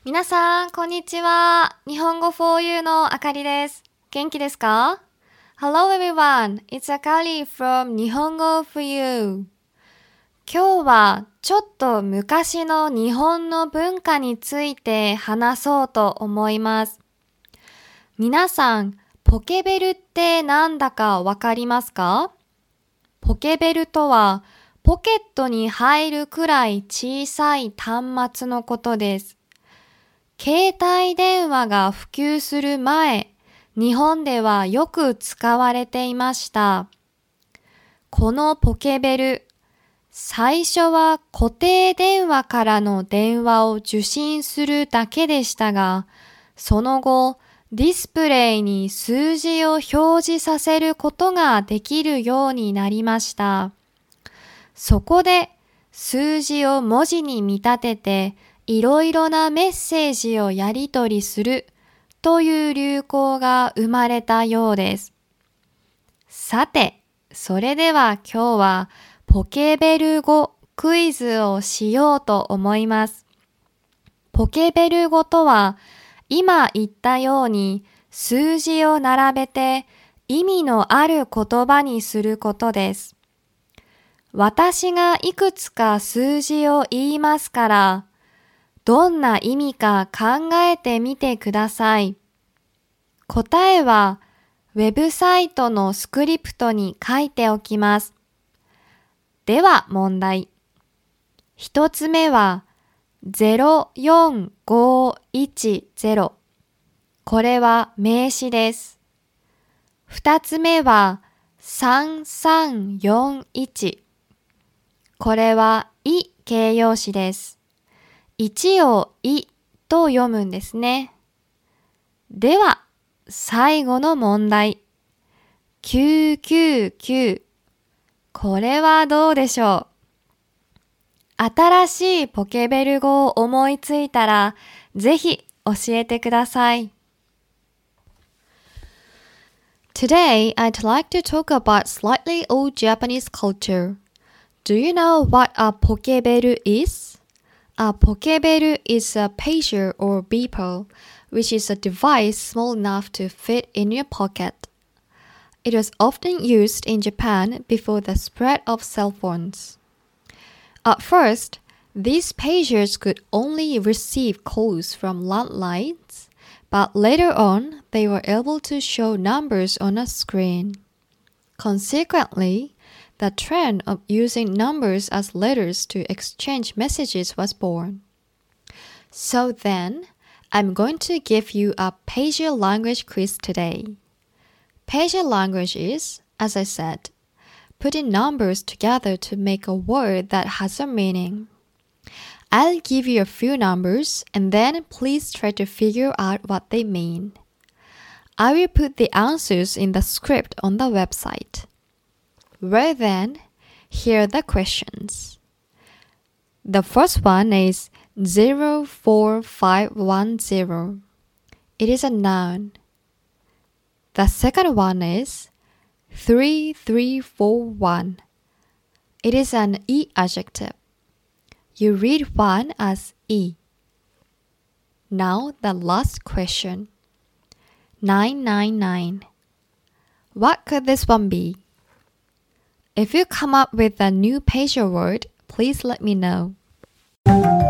皆さん、こんにちは。日本語 for you のあかりです。元気ですか？ Hello everyone, it's Akari from 日本語 for you. 今日はちょっと昔の日本の文化について話そうと思います。皆さん、ポケベルってなんだかわかりますか？ポケベルとは、ポケットに入るくらい小さい端末のことです。携帯電話が普及する前、日本ではよく使われていました。このポケベル、最初は固定電話からの電話を受信するだけでしたが、その後、ディスプレイに数字を表示させることができるようになりました。そこで、数字を文字に見立てて、いろいろなメッセージをやり取りするという流行が生まれたようです。さて、それでは今日はポケベル語クイズをしようと思います。ポケベル語とは、今言ったように数字を並べて意味のある言葉にすることです。私がいくつか数字を言いますから、どんな意味か考えてみてください。答えはウェブサイトのスクリプトに書いておきます。では問題。一つ目は04510。これは名詞です。二つ目は3341。これはい形容詞です。1をいと読むんですね。では、最後の問題。999。これはどうでしょう？新しいポケベル語を思いついたら、ぜひ教えてください。Today, I'd like to talk about slightly old Japanese culture. Do you know what a pokebell is?A pokebell is a pager or beeper, which is a device small enough to fit in your pocket. It was often used in Japan before the spread of cell phones. At first, these pagers could only receive calls from landlines, but later on, they were able to show numbers on a screen. Consequently,The trend of using numbers as letters to exchange messages was born. So then, I'm going to give you a pager language quiz today. Pager language is, as I said, putting numbers together to make a word that has a meaning. I'll give you a few numbers and then please try to figure out what they mean. I will put the answers in the script on the website.Well then, here are the questions. The first one is 04510. It is a noun. The second one is 3341. It is an E adjective. You read one as E. Now the last question. 999. What could this one be?If you come up with a new pager word, please let me know.